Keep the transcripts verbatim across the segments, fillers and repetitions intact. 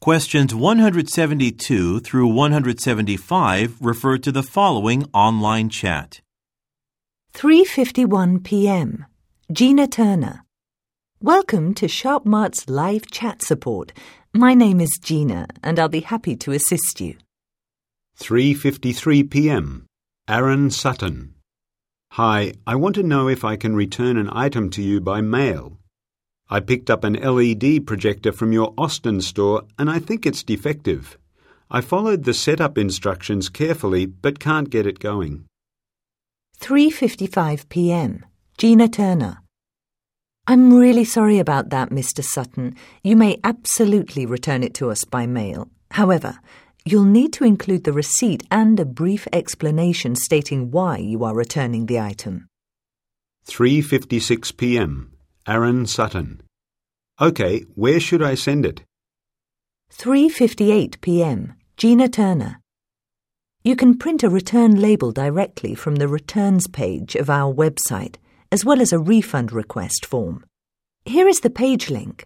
Questions one hundred seventy-two through one hundred seventy-five refer to the following online chat. three fifty-one p m Gina Turner. Welcome to SharpMart's live chat support. My name is Gina, and I'll be happy to assist you. three fifty-three p m Aaron Sutton. Hi, I want to know if I can return an item to you by mail. I picked up an L E D projector from your Austin store and I think it's defective. I followed the setup instructions carefully but can't get it going. three fifty-five p m Gina Turner. I'm really sorry about that, Mister Sutton. You may absolutely return it to us by mail. However, you'll need to include the receipt and a brief explanation stating why you are returning the item. three fifty-six p m Aaron Sutton. OK, where should I send it? three fifty-eight p m Gina Turner. You can print a return label directly from the returns page of our website, as well as a refund request form. Here is the page link.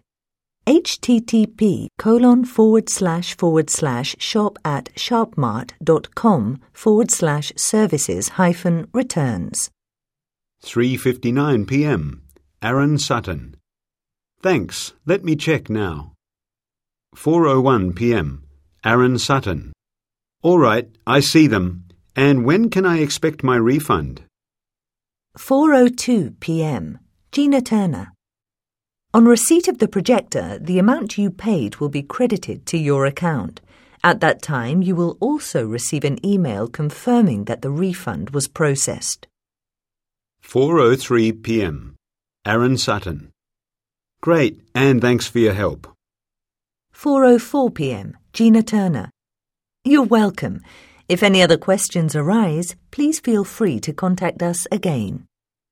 http colon forward slash forward slash shop at sharpmart.com forward slash services hyphen returns. three fifty-nine p m Aaron Sutton. Thanks, let me check now. four oh one p m Aaron Sutton. All right, I see them. And when can I expect my refund? four oh two p m Gina Turner. On receipt of the projector, the amount you paid will be credited to your account. At that time, you will also receive an email confirming that the refund was processed. four oh three p m Aaron Sutton. Great, and thanks for your help. four oh four p m Gina Turner. You're welcome. If any other questions arise, please feel free to contact us again.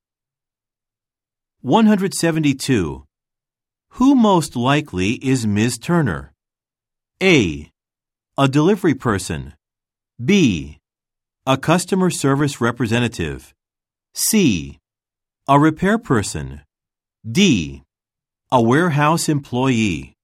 one hundred seventy-two. Who most likely is Miz Turner? A. A delivery person. B. A customer service representative. C. A repair person. D. A warehouse employee.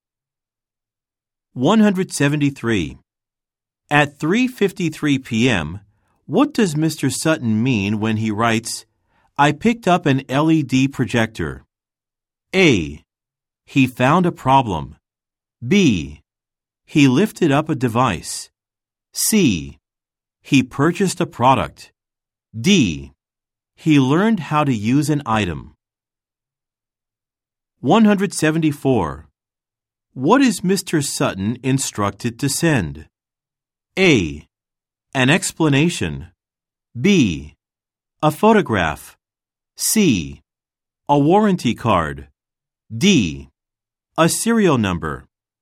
one hundred seventy-three. At three fifty-three p m, what does Mister Sutton mean when he writes, I picked up an L E D projector? A. He found a problem. B. He lifted up a device. C. He purchased a product. D. He learned how to use an item. one hundred seventy-four. What is Mister Sutton instructed to send? A. An explanation. B. A photograph. C. A warranty card. D. A serial number.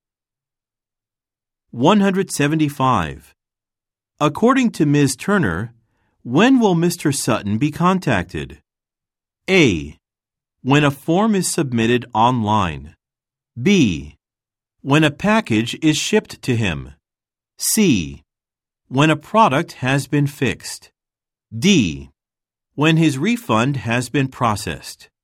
one hundred seventy-five. According to Miz Turner, when will Mister Sutton be contacted? A. When a form is submitted online. B. When a package is shipped to him. C. When a product has been fixed. D. When his refund has been processed.